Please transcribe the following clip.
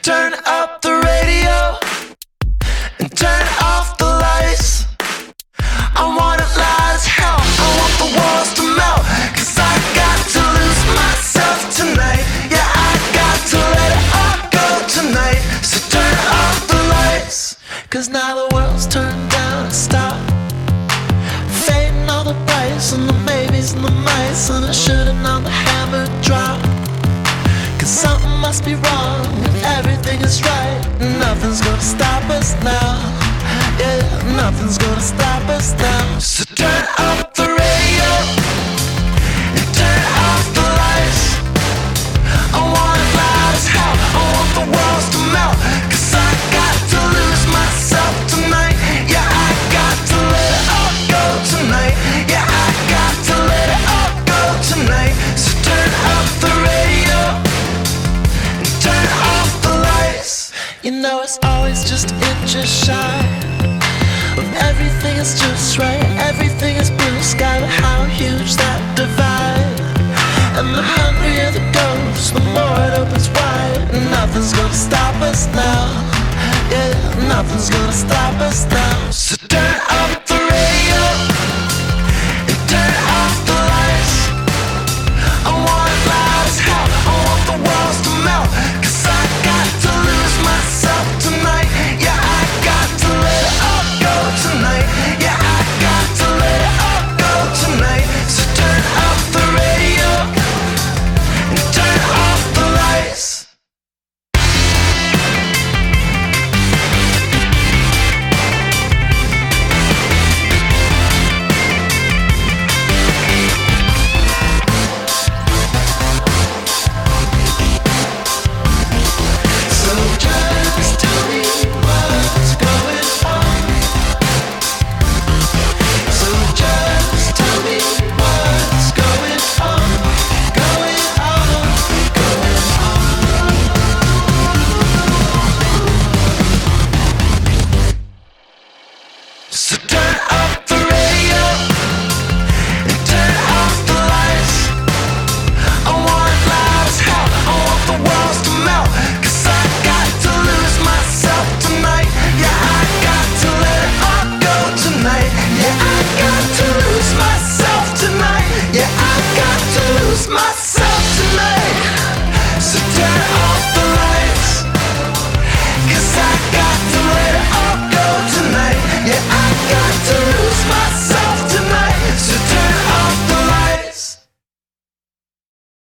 turn up the radio and turn off the lights. I want it loud as hell, I want the walls to melt, 'cause I got to lose myself tonight. Yeah, I got to let it all go tonight. So turn off the lights, 'cause now the world's turned down and stop. Fading all the brights and the maybes and the mights, and I should've known the hammer drop. 'Cause something must be wrong if everything is right. Nothing's gonna stop us now. Yeah, nothing's gonna stop us now. So turn up the radio and turn off the lights. I want it loud as hell, I want the walls to melt, 'cause I got to lose myself tonight. Yeah, I got to let it all go tonight. Yeah, I got to let it all go tonight. So turn up the radio and turn off the lights. You know it's always just inches shy of everything is just right. Everything is blue sky, but how huge that divide. And the hungrier the ghost, the more it opens wide. Nothing's gonna stop us now. Yeah, nothing's gonna stop us now. So turn up the